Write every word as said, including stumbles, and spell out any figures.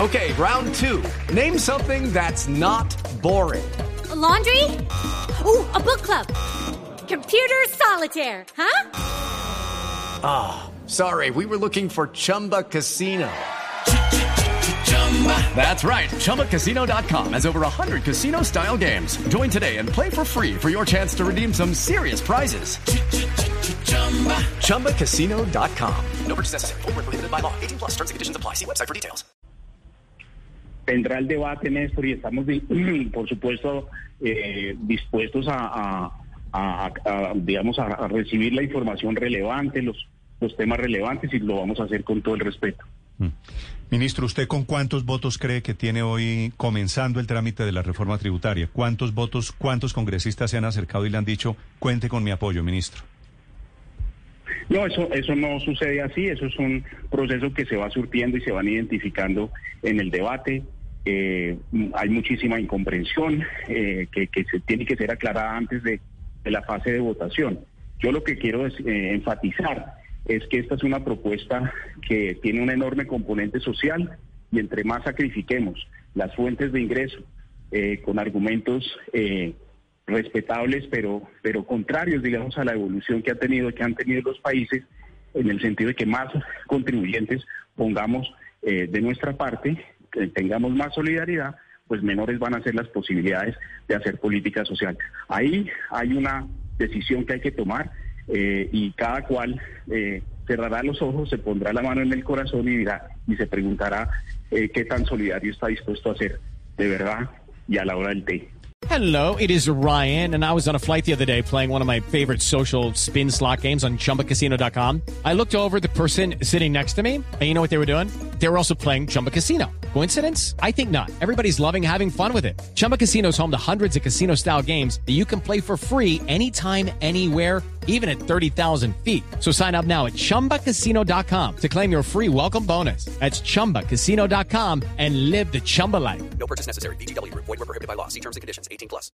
Okay, round two. Name something that's not boring. A laundry? Ooh, a book club. Computer solitaire, huh? Ah, oh, sorry, we were looking for Chumba Casino. That's right, Chumba Casino dot com has over one hundred casino-style games. Join today and play for free for your chance to redeem some serious prizes. Chumba Casino dot com. No purchase necessary. Void where prohibited by law. eighteen plus terms and conditions apply. See website for details. Tendrá el debate, Néstor, y estamos, por supuesto, eh, dispuestos a, a, a, a digamos, a, a recibir la información relevante, los, los temas relevantes, y lo vamos a hacer con todo el respeto. Mm. Ministro, ¿usted con cuántos votos cree que tiene hoy comenzando el trámite de la reforma tributaria? ¿Cuántos votos, cuántos congresistas se han acercado y le han dicho, cuente con mi apoyo, ministro? No, eso, eso no sucede así. Eso es un proceso que se va surtiendo y se van identificando en el debate. Eh, hay muchísima incomprensión eh, que, que se tiene que ser aclarada antes de, de la fase de votación. Yo lo que quiero es, eh, enfatizar es que esta es una propuesta que tiene un enorme componente social, y entre más sacrifiquemos las fuentes de ingreso eh, con argumentos eh, respetables, pero, pero contrarios, digamos, a la evolución que ha tenido, que han tenido los países, en el sentido de que más contribuyentes pongamos eh, de nuestra parte, que tengamos más solidaridad, pues menores van a ser las posibilidades de hacer política social. Ahí hay una decisión que hay que tomar. Eh, y cada cual eh, cerrará los ojos, se pondrá la mano en el corazón y dirá, y se preguntará eh, qué tan solidario está dispuesto a ser de verdad y a la hora del té. Hello, it is Ryan, and I was on a flight the other day playing one of my favorite social spin slot games on Chumba Casino dot com. I looked over at the person sitting next to me, and you know what they were doing? They were also playing Chumba Casino. Coincidence? I think not. Everybody's loving having fun with it. Chumba Casino is home to hundreds of casino-style games that you can play for free anytime, anywhere, even at thirty thousand feet. So sign up now at Chumba Casino dot com to claim your free welcome bonus. That's Chumba Casino dot com and live the Chumba life. No purchase necessary. V G W. Void where prohibited by law. See terms and conditions. eighteen plus.